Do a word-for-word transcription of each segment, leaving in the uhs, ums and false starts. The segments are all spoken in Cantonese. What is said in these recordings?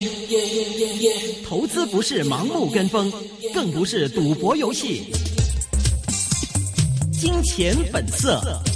投資不是盲目跟風，更不是賭博遊戲。金錢本色。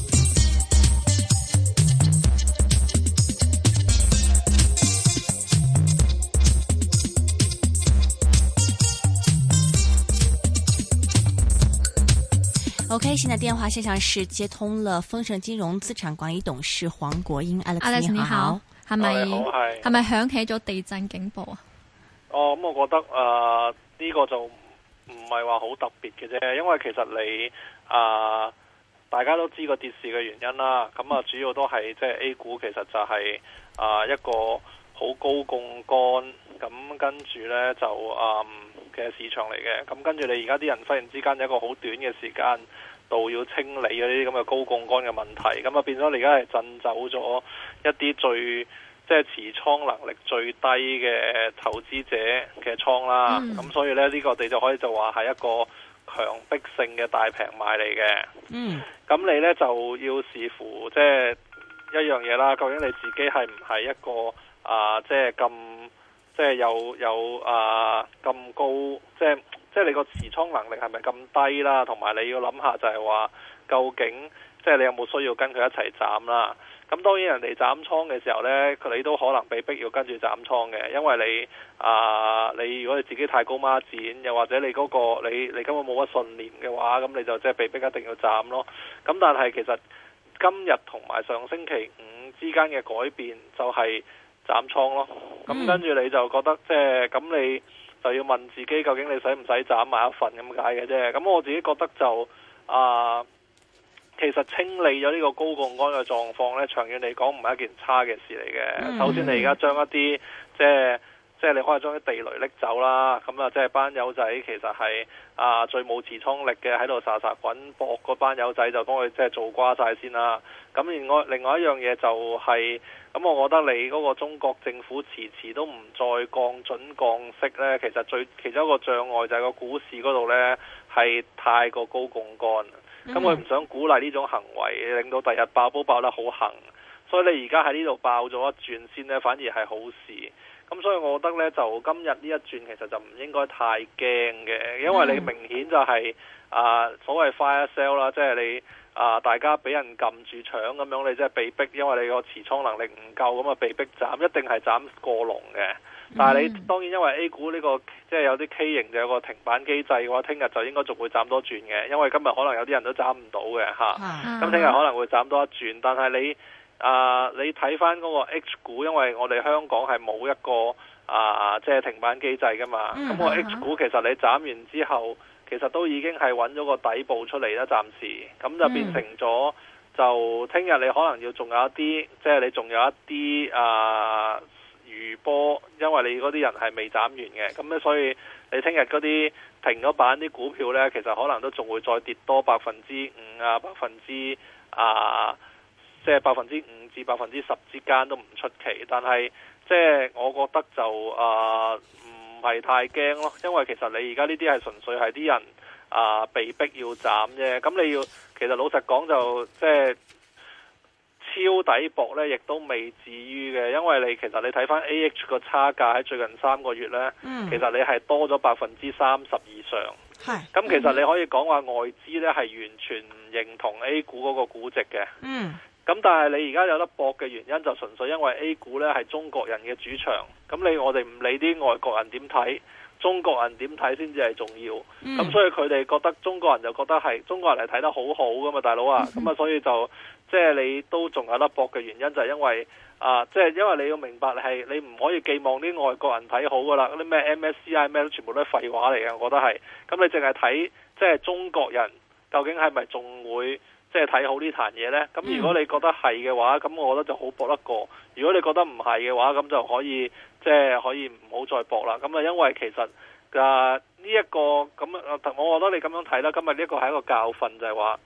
OK， 現在電話線上是接通了豐盛金融資產管理董事黃國英 Alex， 你好， 係咪係咪響起咗地震警報啊？ 哦，咁、嗯、我覺得誒呢、呃這個就唔係話好特別嘅啫，因為其實你啊、呃、大家都知個跌市嘅原因啦，咁啊主要都係即係 A 股其實就係、是、啊、呃、一個好高槓桿，咁跟住呢就嗯嘅市場嚟嘅，咁跟住你而家啲人忽然之間有一個好短嘅時間度要清理嗰啲咁嘅高槓桿嘅問題，咁啊變咗你而家係震走咗一啲最即係持倉能力最低嘅投資者嘅倉啦，咁、嗯、所以咧呢、這個你就可以就話係一個強迫性嘅大平買嚟嘅。嗯，咁你呢就要視乎即係一樣嘢啦，究竟你自己係唔係一個啊、呃、即係咁即係有有啊咁高，即係即係你個持倉能力係咪咁低啦？同埋你要諗下就係話究竟即係你有冇需要跟佢一齊斬啦？咁當然人哋斬倉嘅時候呢，你都可能被逼要跟住斬倉嘅，因為你啊、呃，你如果你自己太高孖展，又或者你嗰、嗰個你你根本冇乜信念嘅話，咁你就即係被逼一定要斬咯。咁但係其實今日同埋上星期五之間嘅改變就係斬倉咯。咁跟住你就覺得即係咁，你就要問自己究竟你使唔使斬埋一份咁解嘅啫。咁我自己覺得就啊。呃其實清理咗呢個高槓桿嘅狀況呢，長遠嚟講唔係一件差嘅事嚟嘅。Mm-hmm. 首先你而家將一啲即係即係你可以將啲地雷拎走啦，咁啊即係班友仔其實係啊最冇持倉力嘅喺度沙沙滾搏嗰班友仔就幫佢即係做瓜晒先啦。咁另外另外一樣嘢就係、是、咁，我覺得你嗰個中國政府遲遲都唔再降準降息呢，其實最其中一個障礙就係個股市嗰度呢係太過高槓桿。咁佢唔想鼓勵呢種行為，令到第日爆煲爆得好行，所以你而家喺呢度爆咗一轉先呢，反而係好事。咁所以我覺得呢，就今日呢一轉其實就唔應該太驚嘅，因為你明顯就係、是、啊、呃、所謂 fire sale 啦，即係你啊、呃、大家俾人撳住搶咁樣，你即係被逼，因為你個持倉能力唔夠，咁啊被逼斬，一定係斬過龍嘅。但係你當然因為 A 股呢、這個即係有啲 K 型就有個停板機制嘅話，聽日就應該仲會斬多轉嘅，因為今日可能有啲人都斬唔到嘅嚇。咁聽日可能會斬多一轉，但係你啊、呃、你睇翻嗰個 H 股，因為我哋香港係冇一個啊即係停板機制噶嘛，咁、嗯、個 H 股其實你斬完之後，其實都已經係揾咗個底部出嚟啦，暫時咁就變成咗、嗯、就聽日你可能要仲有一啲，即係你仲有一啲啊。餘波，因為你嗰啲人係未斬完嘅，咁咧所以你聽日嗰啲停咗板啲股票呢，其實可能都仲會再跌多百分之五啊，百分之啊，即係百分之五至百分之十之間都唔出奇。但係即係我覺得就啊唔係太驚咯，因為其實你而家呢啲係純粹係啲人啊被逼要斬啫。咁你要其實老實講就即係。超底博呢亦都未至於嘅，因為你其實你睇翻 A H 個差價喺最近三個月呢，嗯、其實你係多咗百分之三十以上。係，咁其實你可以講話外資呢係完全唔認同 A 股嗰個估值嘅。嗯，咁但係你而家有得博嘅原因就純粹因為 A 股呢係中國人嘅主場，咁你我哋唔理啲外國人點睇。中國人點睇先至係重要，咁、嗯、所以佢哋覺得中國人就覺得係中國人係睇得好好噶嘛，大佬啊，咁、嗯、啊所以就即係你都仲有得搏嘅原因就係因為啊，即、呃、係、就是、因為你要明白係你唔可以寄望啲外國人睇好噶啦，嗰啲咩 M S C I 咩都全部都係廢話嚟嘅，我覺得係，咁你淨係睇即係中國人究竟係咪仲會即係睇好呢壇嘢呢？咁如果你覺得係嘅話，咁我覺得就好搏得過；如果你覺得唔係嘅話，咁就可以。即係可以唔好再搏啦，咁啊，因為其實啊呢一個咁啊，我覺得你咁樣睇啦，今日呢一個係一個教訓，就係話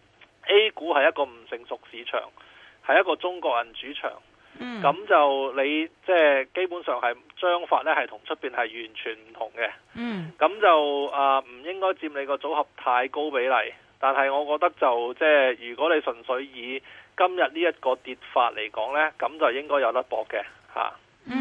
A 股係一個唔成熟市場，係一個中國人主場，咁、嗯、就你即係基本上係章法呢係同出邊係完全唔同嘅，咁、嗯、就啊唔應該佔你個組合太高比例，但係我覺得就即係如果你純粹以今日呢一個跌法嚟講呢，咁就應該有得搏嘅嚇。嗯哼。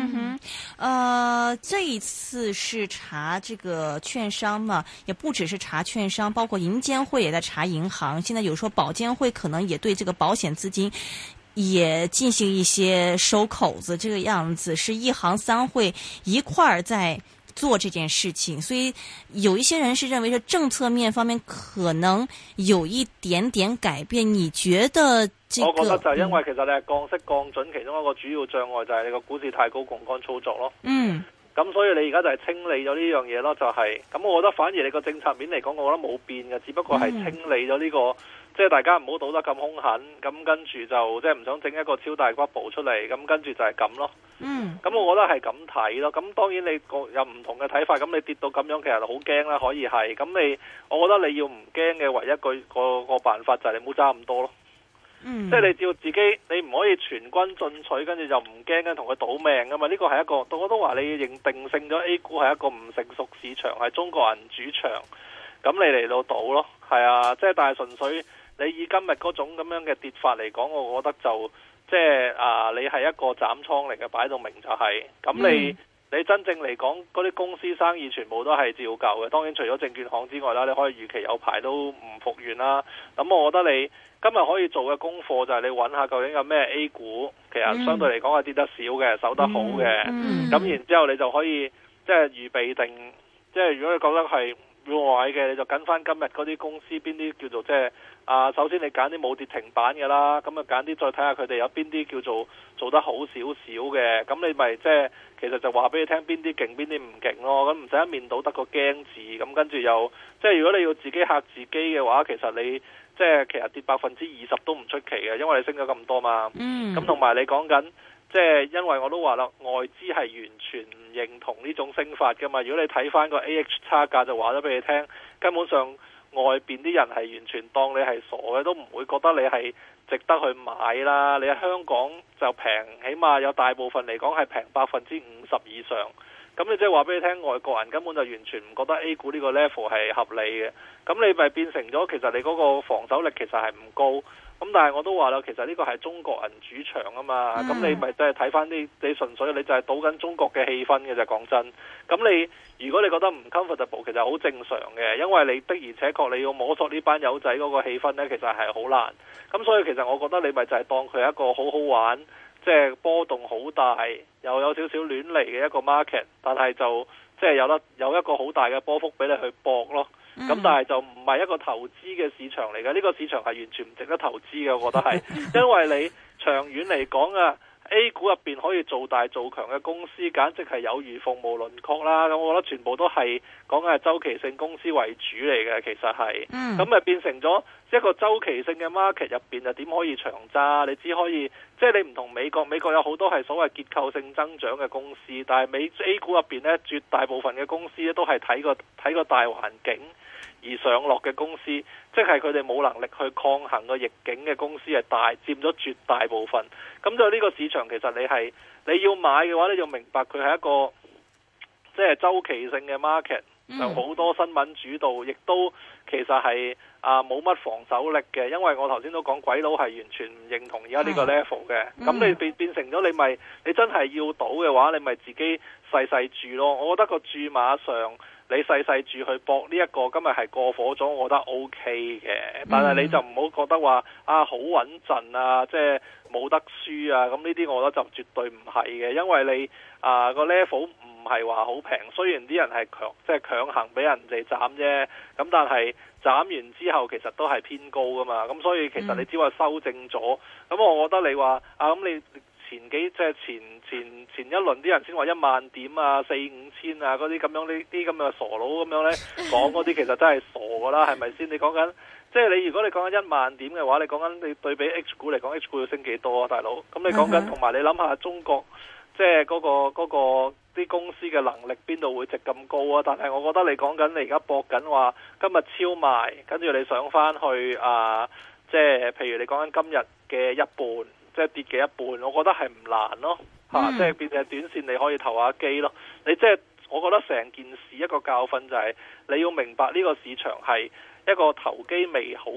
呃，這一次是查這個券商嘛，也不只是查券商，包括銀監會也在查銀行。現在有說保監會可能也對這個保險資金也進行一些收口子，這個樣子是一行三會一塊兒在做這件事情。所以有一些人是認為說政策面方面可能有一點點改變。你覺得？ 我覺得就係因為其實你係降息降準，其中一個主要障礙就係你個股市太高槓桿操作咯。嗯，咁所以你而家就係清理咗呢樣嘢咯，就係、是、咁。我覺得反而你個政策面嚟講，我覺得冇變嘅，只不過係清理咗呢、這個，嗯、即係大家唔好賭得咁兇狠，咁跟住就即係唔想整一個超大骨部出嚟，咁跟住就係咁咯。嗯，咁我覺得係咁睇咯。咁當然你個有唔同嘅睇法，咁你跌到咁樣其實好驚啦，可以係。咁你，我覺得你要唔驚嘅唯一個個個辦法就係你唔好揸咁多咯。嗯、即係你照自己，你唔可以全軍進取，跟住就唔驚跟同佢賭命噶嘛？呢個係一個，我都話你認定性咗 A 股係一個唔成熟市場，係中國人主場，咁你嚟到賭咯，係啊，即係但係純粹你以今日嗰種咁樣嘅跌法嚟講，我覺得就即係啊，你係一個斬倉嚟嘅，擺到明就係、是，咁你、嗯、你真正嚟講嗰啲公司生意全部都係照舊嘅，當然除咗證券行之外啦，你可以預期有排都唔復原啦，咁我覺得你。今日可以做嘅功課就係你揾下究竟有咩 A 股，其實相對嚟講係跌得少嘅，守得好嘅。咁、嗯嗯、然之後你就可以即係預備定，即係如果你覺得係要買嘅，你就跟翻今日嗰啲公司邊啲叫做即係啊。首先你揀啲冇跌停板嘅啦，咁啊揀啲再睇下佢哋有邊啲叫做做得好少少嘅。咁你咪即係其實就話俾你聽邊啲勁邊啲唔勁咯。咁唔使一面倒得個驚字，咁跟住又即係如果你要自己嚇自己嘅話，其實你。即係其實跌百分之二十都唔出奇嘅，因為你升咗咁多嘛。咁同埋你講緊，即係因為我都話啦，外資係完全唔認同呢種升法噶嘛。如果你睇翻個 A H 差價就話咗俾你聽，根本上外邊啲人係完全當你係傻嘅，都唔會覺得你係值得去買啦。你喺香港就平，起碼有大部分嚟講係平百分之五十以上。咁你即係話俾你聽，外國人根本就完全唔覺得 A 股呢個 level 係合理嘅。咁你咪變成咗，其實你嗰個防守力其實係唔高。咁但係我都話啦，其實呢個係中國人主場啊嘛。咁、mm. 你咪即係睇翻啲，你純粹你就係賭緊中國嘅氣氛嘅啫。講真，咁你如果你覺得唔 comfortable，其實好正常嘅，因為你的而且確你要摸索呢班友仔嗰個氣氛呢，其實係好難。咁所以其實我覺得你咪就係當佢係一個好好玩。即係波動好大，又有少少亂嚟嘅一個 market， 但係就即係有得有一個好大嘅波幅俾你去搏咯。咁、嗯、但係就唔係一個投資嘅市場嚟嘅，呢、這個市場係完全唔值得投資嘅，我覺得係，因為你長遠嚟講啊。A 股入邊可以做大做強嘅公司，簡直係有如鳳毛麟角啦。咁我覺得全部都係講緊係周期性公司為主嚟嘅，其實係。咁咪、嗯、變成咗一個周期性嘅 market 入邊，就點可以長揸？你只可以即係、就是、你唔同美國，美國有好多係所謂結構性增長嘅公司，但係美 A 股入邊呢，絕大部分嘅公司咧都係睇個睇個大環境而上落嘅公司，即係佢哋冇能力去抗衡個逆境嘅公司係大佔咗絕大部分。咁就呢個市場其實你係你要買嘅話，你就明白佢係一個即係周期性嘅 market，就好多新聞主導，亦都其實係啊冇乜防守力嘅。因為我頭先都講鬼佬係完全唔認同而家呢個 level 嘅。咁、嗯、你變變成咗你咪你真係要賭嘅話，你咪自己細細注咯。我覺得個注碼上。你細細注去搏呢一個今日係過火咗，我覺得 O K 嘅。但係你就唔好覺得話啊好穩陣啊，即係冇得輸啊。咁呢啲我覺得就絕對唔係嘅，因為你啊個 level 唔係話好平。雖然啲人係強即係強行俾人哋斬啫，咁但係斬完之後其實都係偏高噶嘛。咁所以其實你只話修正咗。咁我覺得你話啊咁你。前幾即係前前前一輪啲人先話一萬點啊四五千啊嗰啲咁樣呢啲咁嘅傻佬咁樣呢講嗰啲其實真係傻噶啦，係咪先？你講緊即係你如果你講緊一萬點嘅話，你講緊你對比 H 股嚟講 H 股要升幾多啊大佬？咁你講緊同埋你諗下中國即係嗰個嗰個啲公司嘅能力邊度會值咁高啊？但係我覺得你講緊你而家搏緊話今日超賣，跟住你上翻去啊，即係譬如你講緊今日嘅一半。即係跌嘅一半，我覺得係唔難咯，嚇、嗯！即係變成短線你可以投下機咯。你即係我覺得成件事一個教訓就係、是、你要明白呢個市場係一個投機未好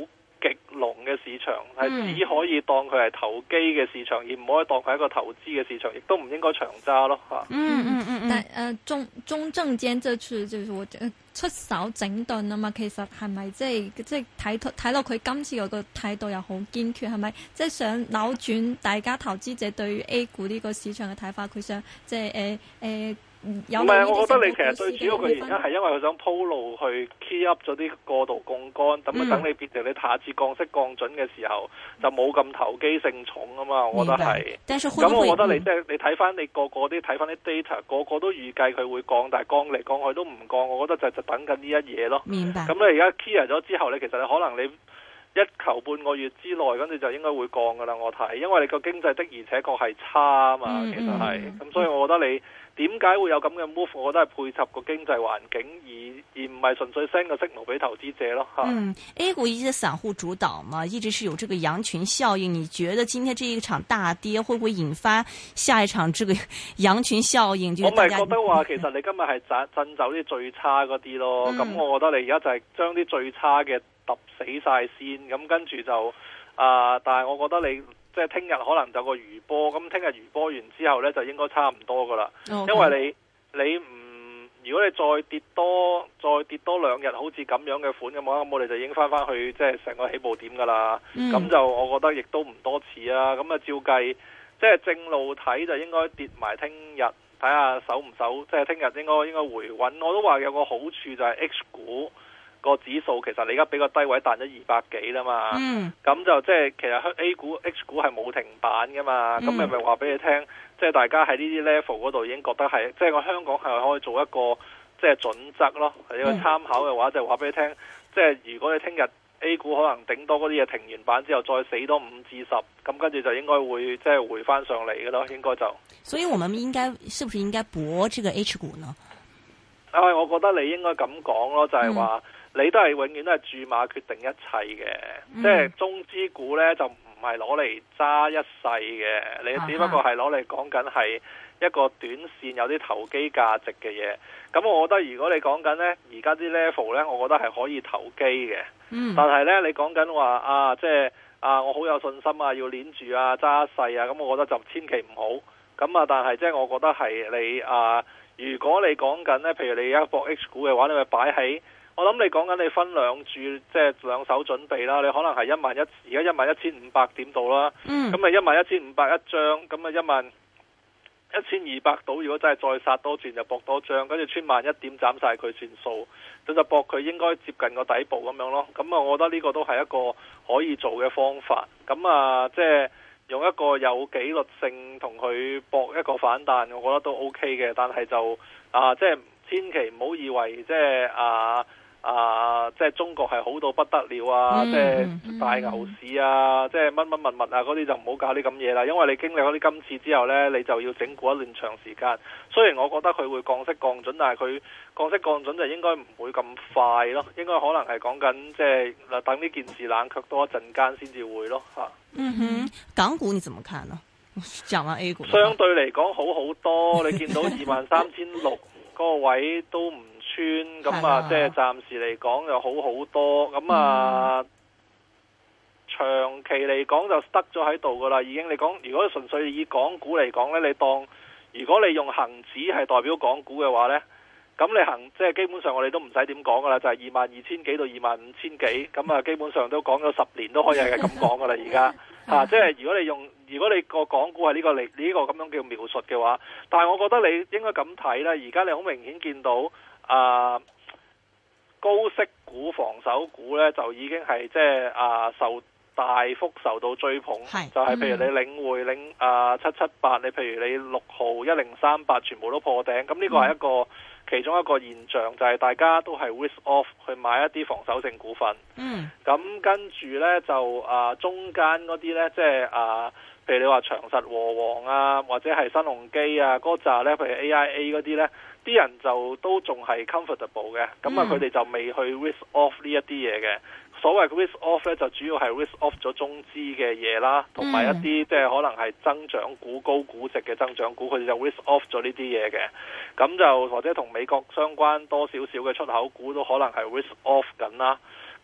極濃嘅市場，係、嗯、只可以當佢係投機嘅市場，而唔可以當佢係一個投資嘅市場，亦都唔應該長揸咯嚇。 嗯嗯嗯，但誒、呃、中中證監這次就是我出手整頓啊嘛，其實係咪即係即係睇睇落佢今次嗰個態度又好堅決，係咪即係想扭轉大家投資者對於 A 股呢個市場嘅睇法？佢想即係誒誒。呃呃唔係，我覺得你其實最主要嘅原因係因為佢想鋪路去 key up 咗啲過度槓桿，咁啊等你變成你下次降息降準嘅時候就冇咁投機性重啊嘛，我覺得係。咁我覺得你即係、嗯、你睇翻你個個啲睇翻啲 data，個個都預計佢會降，但係降嚟降去都唔降，我覺得就就等緊呢一嘢咯。 明白。 咁你而家 clear 咗之後，你其實你可能你一求半個月之內，跟住就應該會降噶啦。我睇，因為你個經濟的而且確係差啊嘛，嗯、其實係。咁、嗯、所以我覺得你。點解會有咁嘅 move？ 我覺得係配合個經濟環境，而而唔係純粹 send 個 signal 俾投資者咯。 嗯 ，A 股一些散戶主導嘛，一直是有這個羊群效應。你覺得今天這一場大跌會唔會引發下一場這個羊群效應？就是、 我咪覺得話，其實你今日係震震走啲最差嗰啲咯。咁、嗯、我覺得你而家就係將啲最差嘅揼死晒先，咁跟住就啊、呃，但係我覺得你。即係聽日可能就個餘波，咁聽日餘波完之後呢，就應該差唔多噶啦。Okay. 因為你你唔，如果你再跌多再跌多兩日，好似咁樣嘅款嘅話，咁我哋就已經翻翻去即係成個起步點噶啦。咁、嗯、就我覺得亦都唔多似啊。咁啊照計，即係正路睇就應該跌埋聽日，睇下守唔守。即係聽日應該應該回穩。我都話有個好處就係 H 股。個指數其實你而家俾個低位彈咗二百幾啦嘛，咁、嗯、就即係其實 A 股 H 股係冇停板噶嘛，咁咪咪話俾你聽，即係大家喺呢啲 level 嗰度已經覺得係，即係我香港係可以做一個即係準則咯，係一個參考嘅話，就話俾你聽，即係如果你聽日 A 股可能頂多嗰啲嘢停完板之後再死多五至十，咁跟住就應該會即係回翻上嚟嘅咯，應該就。所以我們應該是不是應該搏這個 H 股呢？啊，我覺得你應該咁講咯，就係、是、話。嗯你都係永遠都係注碼決定一切嘅、嗯，即係中資股呢，就唔係攞嚟揸一世嘅，你只不過係攞嚟講緊係一個短線有啲投機價值嘅嘢。咁我覺得如果你講緊呢，而家啲 level 呢，我覺得係可以投機嘅、嗯。但係呢，你講緊話啊，即係啊，我好有信心啊，要鏈住啊，揸一世啊，咁我覺得就千祈唔好。咁啊，但係即係我覺得係你啊，如果你講緊呢，譬如你而家博 H 股嘅話，你咪擺喺。我諗你講緊你分兩注，即係兩手準備啦。你可能係一萬一，而家一萬一千五百點度啦。咁咪一萬一千五百一張，咁咪一萬一千二百到。如果真係再殺多轉，就搏多張，跟住穿萬一點斬晒佢算數，咁就搏佢應該接近個底部咁樣咯。咁啊，我覺得呢個都係一個可以做嘅方法。咁啊，即係用一個有紀律性同佢搏一個反彈，我覺得都 OK 嘅。但係就啊，即係千祈唔好以為即係啊。啊！即係中國係好到不得了啊！嗯、即係大牛市啊！嗯、即係乜乜物物啊！嗰啲就唔好搞啲咁嘢啦。因為你經歷嗰啲今次之後呢，你就要整固一段長時間。雖然我覺得佢會降息降準，但係佢降息降準就應該唔會咁快咯。應該可能係講緊即係等呢件事冷卻多一陣間先至會咯嚇。嗯哼，港股你怎麼看呢？講完 A 股，相對嚟講好好多。你見到二萬三千六嗰個位都唔咁啊，即係暫時嚟講就好好多，咁啊、嗯、長期嚟講就得咗喺度噶啦，已經。你講如果純粹以港股嚟講呢，你當如果你用恒指係代表港股嘅話呢，咁你恒即係基本上我哋都唔使點講噶啦，就係二萬二千幾到二萬五千幾，咁啊基本上都講咗十年都可以係咁講噶啦，而家吓，即係如果你用如果你個港股係呢個嚟呢個咁樣叫描述嘅話，但係我覺得你應該咁睇啦，而家你好明顯見到。啊，高息股、防守股咧就已經係即係啊受大幅受到追捧，就係、是、譬如你領匯、領啊七七八，你譬如你六號、一零三八，全部都破頂。咁呢個係一個、嗯、其中一個現象，就係、是、大家都係 risk off 去買一啲防守性股份。嗯，咁跟住咧就啊中間嗰啲咧，即係啊，譬如你話長實、和黃啊，或者係新鴻基啊嗰扎咧，譬如 A I A 嗰啲咧。啲人就都仲係 comfortable 嘅，咁啊佢哋就未去 risk off 呢一啲嘢嘅。所謂 risk off 咧，就主要係 risk off 咗中資嘅嘢啦，同埋一啲即係可能係增長股、高估值嘅增長股，佢哋就 risk off 咗呢啲嘢嘅。咁就或者同美國相關多少少嘅出口股都可能係 risk off 緊啦。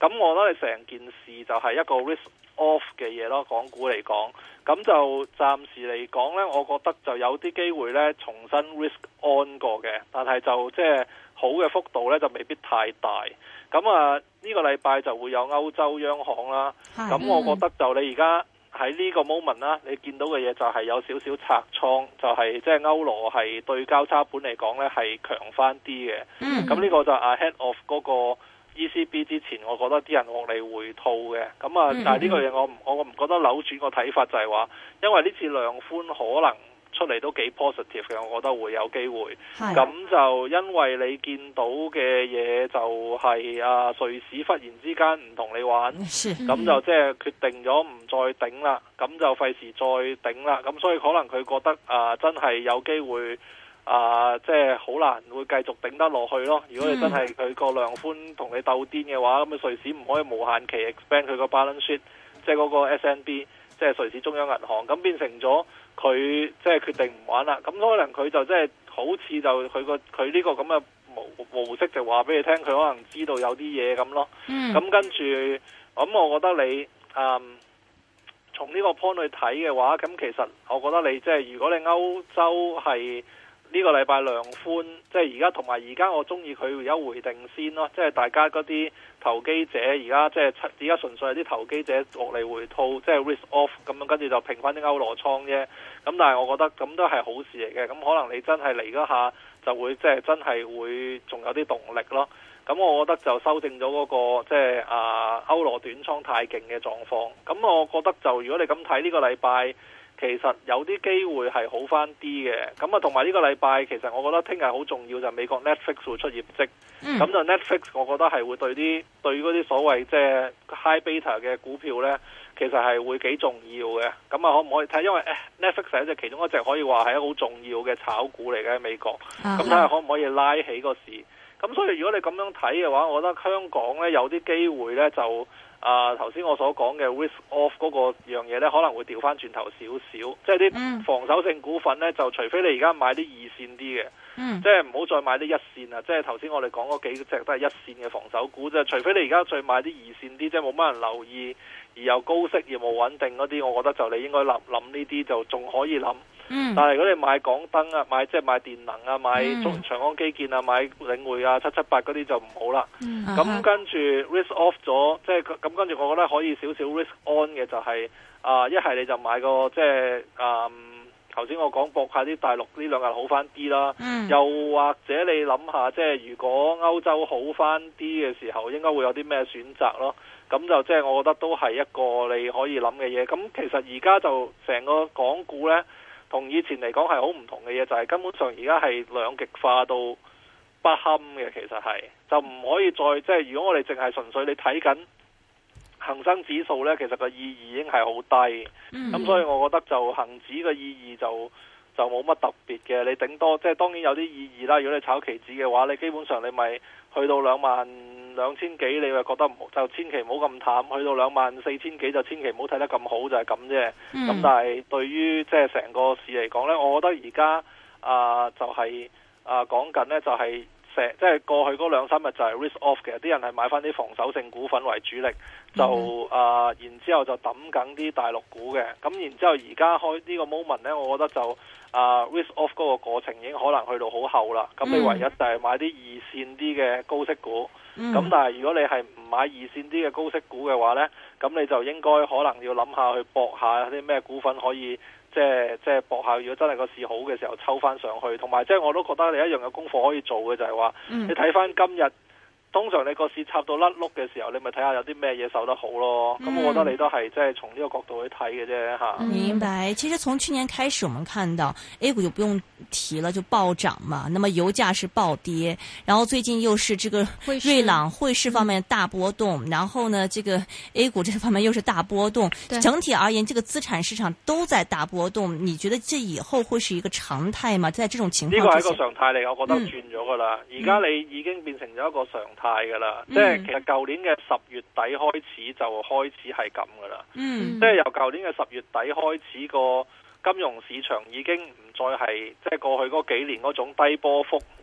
咁我覺得你成件事就係一個 risk off 嘅嘢咯，港股嚟講，咁就暫時嚟講呢，我覺得就有啲機會呢重新 risk on 過嘅，但係就即係好嘅幅度呢就未必太大。咁啊呢個禮拜就會有歐洲央行啦，咁我覺得就你而家喺呢個 moment 啦，你見到嘅嘢就係有少少拆倉，就係即係歐羅係對交叉盤嚟講呢係強翻啲嘅。咁呢個就 ahead of 嗰個 E C B 之前，我覺得啲人獲利回吐嘅。咁啊，但係呢個嘢我我我唔覺得扭轉個睇法，就係話，因為呢次量寬可能出嚟都幾 positive 嘅，我覺得會有機會。咁就因為你見到嘅嘢就係啊，瑞士忽然之間唔同你玩，咁就即係決定咗唔再頂啦，咁就費事再頂啦。咁所以可能佢覺得啊，真係有機會。啊，即係好難會繼續頂得落去咯。如果你真係佢個量寬同你鬥癲嘅話，咁啊瑞士唔可以無限期 expand 佢個 balance sheet，即係嗰個 S N B， 即係瑞士中央銀行，咁變成咗佢即係決定唔玩啦。咁可能佢就即係好似就佢個佢呢個咁嘅模模式就話俾你聽，佢可能知道有啲嘢咁咯。咁、嗯、跟住，咁我覺得你嗯從呢個 point 去睇嘅話，咁其實我覺得你即係如果你歐洲係。呢個禮拜量寬，即係而家同埋而家我中意佢而家回定先咯，即係大家嗰啲投機者而家即係而家純粹係啲投機者落嚟回吐，即係 risk off 咁樣，跟住就平翻啲歐羅倉啫。咁但係我覺得咁都係好事嚟嘅。咁可能你真係嚟嗰下就會即係真係會仲有啲動力咯。咁我覺得就修正咗嗰個即係啊歐羅短倉太勁嘅狀況。咁我覺得就如果你咁睇呢個禮拜。其實有啲機會係好翻啲嘅，咁啊同埋呢個禮拜其實我覺得聽日好重要就係美國 Netflix 會出業績，咁、嗯、就 Netflix 我覺得係會對啲對嗰啲所謂即係 high beta 嘅股票呢，其實係會幾重要嘅。咁啊可唔可以睇？因為 Netflix 係一隻其中一隻可以話係一個好重要嘅炒股嚟嘅喺美國，咁睇下可唔可以拉起個市。咁所以如果你咁樣睇嘅話，我覺得香港呢有啲機會呢就。啊，頭先我所講嘅 risk off 嗰個樣嘢咧，可能會調翻轉頭少少，即係啲防守性股份咧，就除非你而家買啲二線啲嘅，嗯、即係唔好再買啲一線啊！即係頭先我哋講嗰幾隻都係一線嘅防守股，即係除非你而家再買啲二線啲，即係冇乜人留意而又高息業務穩定嗰啲，我覺得就你應該諗諗呢啲就仲可以諗。嗯、但係如果你買港燈啊，買即係買電能啊，買中、嗯、長江基建啊，買領匯啊，七七八嗰啲就唔好啦。咁、嗯、跟住 risk off 咗，即係咁跟住我覺得可以少少 risk on 嘅就係、是、啊，一、呃、係你就買個即係啊，頭、呃、先我講博下啲大陸呢兩日好翻啲啦。嗯、又或者你諗下，即係如果歐洲好翻啲嘅時候，應該會有啲咩選擇咯？咁就即係我覺得都係一個你可以諗嘅嘢。咁其實而家就成個港股呢。同以前嚟講係好唔同嘅嘢，就係、是、根本上而家係兩極化到不堪嘅，其實係就唔可以再即係。如果我哋淨係純粹你睇緊恒生指數呢，其實個意義已經係好低。咁、嗯、所以我覺得就恒指嘅意義就就冇乜特別嘅。你頂多即係當然有啲意義啦。如果你炒期指嘅話，你基本上你咪去到兩萬兩千幾，你又覺得唔好就千祈唔好咁淡；去到兩萬四千幾就千祈唔好睇得咁好，就係咁啫。咁、嗯、但係對於即係成個市嚟講呢，我覺得而家啊就係、是、啊講緊呢就係成即係過去嗰兩三日就係 risk off 嘅，啲人係買翻啲防守性股份為主力，就、嗯、啊然之後就抌緊啲大陸股嘅。咁然之後而家開呢個 moment 呢，我覺得就啊 risk off 嗰個過程已經可能去到好後啦。咁你唯一就係買啲二線啲嘅高息股。咁、嗯、但係如果你係唔買二線啲嘅高息股嘅話呢，咁你就應該可能要諗下去搏下啲咩股份可以即係即係搏下，如果真係個市好嘅時候抽翻上去。同埋即係我都覺得你一樣嘅功課可以做嘅就係話，嗯、你睇翻今日。通常你個市插到甩碌嘅時候，你咪睇下有啲咩嘢受得好咯。咁、嗯、我覺得你都係即係從呢個角度去睇嘅啫吓。 明白。其實從去年開始，我們看到 A 股就不用提了，就暴漲嘛。那麼油價是暴跌，然後最近又是這個瑞郎匯市方面大波動，然後呢，這個 A 股這方面又是大波動。整體而言，這個資產市場都在大波動。你覺得這以後會是一個常態嗎？在這種情況之下， 呢個係一個常態嚟，我覺得轉咗噶啦。而家、嗯、你已經變成咗一個常態。態噶啦，即係其實舊年嘅十月底開始就開始係咁噶啦，嗯、即係由舊年嘅十月底開始，個金融市場已經唔再係即係過去嗰幾年嗰種低波幅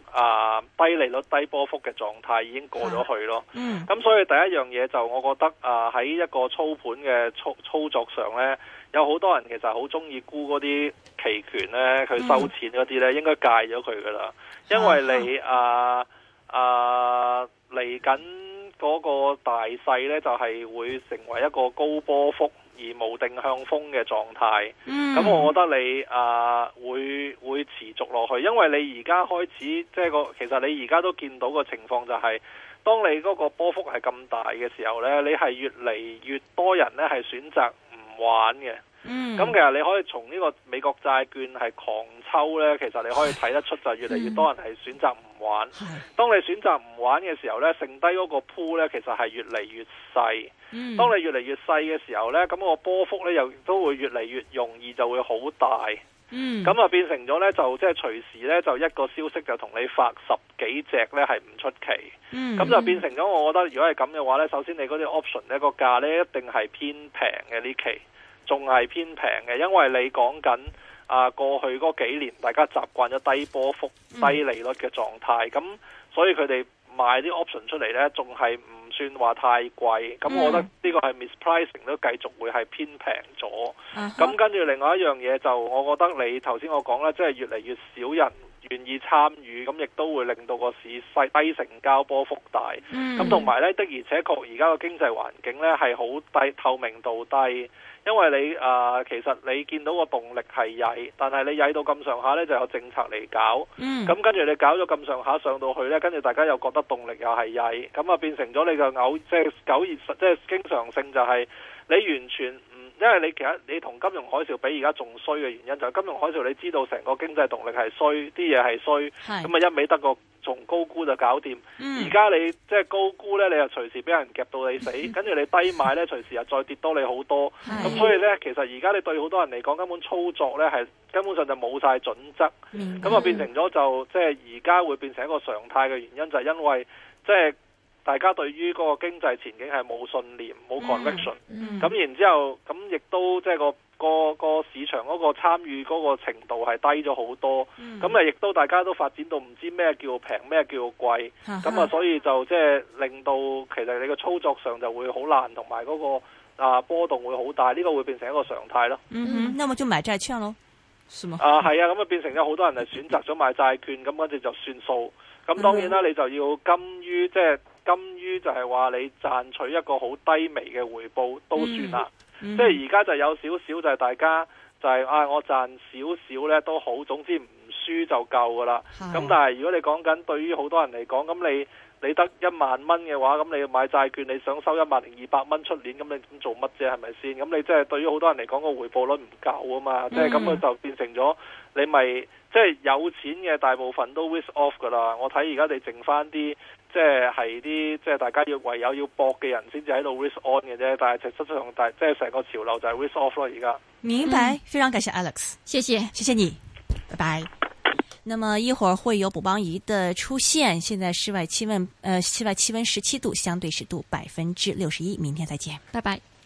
啊低利率低波幅嘅狀態已經過咗去咯。 嗯， 咁所以第一樣嘢就我覺得啊喺一個操盤嘅操操作上呢，有好多人其實好中意沽嗰啲期權呢，佢收錢嗰啲呢，應該戒咗佢噶啦，因為你啊啊嚟緊嗰個大勢呢，就係會成為一個高波幅而無定向風嘅狀態。咁、嗯、我覺得你啊會會持續落去，因為你而家開始即係個其實你而家都見到個情況就係、是，當你嗰個波幅係咁大嘅時候呢，你係越嚟越多人呢係選擇唔玩嘅。咁、嗯、其實你可以從呢個美國債券係狂抽呢，其實你可以睇得出就越嚟越多人係選擇唔玩。嗯、當你選擇唔玩嘅時候呢，剩低嗰個鋪呢，其實係越嚟越細。嗯、當你越嚟越細嘅時候呢，咁、個波幅呢又都會越嚟越容易就會好大。嗯，咁啊變成咗呢，就即係隨時呢，就一個消息就同你發十幾隻呢係唔出奇。嗯，咁就變成咗，我覺得如果係咁嘅話呢，首先你嗰啲 option 呢個價呢一定係偏平嘅呢期。仲係偏平嘅，因為你講緊啊過去嗰幾年大家習慣咗低波幅、低利率嘅狀態，咁、嗯、所以佢哋賣啲 option 出嚟呢，仲係唔算話太貴。咁、嗯、我覺得呢個係 mispricing 都繼續會係偏平咗。咁、uh-huh. 跟住另外一樣嘢就，我覺得你頭先我講啦，即係越嚟越少人願意參與，咁亦都會令到個市細低成交波幅大。咁同埋呢，的而且確而家個經濟環境呢係好低，透明度低。因為你啊、呃，其實你見到個動力係曳，但係你曳到咁上下呢，就有政策嚟搞。嗯。咁跟住你搞咗咁上下上到去呢，跟住大家又覺得動力又係曳，咁啊變成咗你個偶即係九月即係經常性就係你完全唔，因為你其實你同金融海嘯比而家仲衰嘅原因就係金融海嘯你知道成個經濟動力係衰，啲嘢係衰，咁啊一味得個從高估就搞掂。而、嗯、家你即係高估呢，你又隨時俾人夾到你死，跟、嗯、住你低買呢，隨時又再跌多你好多。咁所以呢，其實而家你對好多人嚟講，根本操作呢係根本上就冇晒準則。咁、嗯、啊變成咗就即係而家會變成一個常態嘅原因，就係、是、因為即係大家對於嗰個經濟前景係冇信念、冇 conviction。咁、嗯嗯、然之後咁亦都即係個。個個市場嗰個參與嗰個程度係低咗好多，咁啊亦都大家都發展到唔知咩叫平咩叫貴，咁啊所以就即係令到其實你個操作上就會好難，同埋嗰個啊波動會好大，呢、這個會變成一個常態咯。 嗯哼，那麼就買債券咯，是嗎？ 啊係啊，咁啊變成咗好多人係選擇咗買債券，咁跟住就算數。咁當然啦，你就要甘於即係甘於就係話你賺取一個好低微嘅回報都算啦。嗯、即係而家就有少少就係大家就係、是、啊我賺少少呢都好，總之唔輸就夠噶啦。咁但係如果你講緊對於好多人嚟講，咁你你得一萬蚊嘅話，咁你買債券你想收一萬零二百蚊出年，咁你咁做乜啫？係咪先？咁你即係對於好多人嚟講個回報率唔夠啊嘛。嗯、即係咁佢就變成咗你咪即係有錢嘅大部分都 risk off 噶啦。我睇而家你剩翻啲。即係係啲即係大家要唯有要搏嘅人先至喺度 risk on 嘅啫，但係實質上大即係成個潮流就係 risk off 咯而家。 明白、嗯，非常感謝 Alex， 謝謝，謝謝你，拜拜。那麼一會兒會有補幫儀的出現，現在室外氣溫，呃，室外氣溫十七度，相對濕度百分之六十一，明天再見， 拜拜。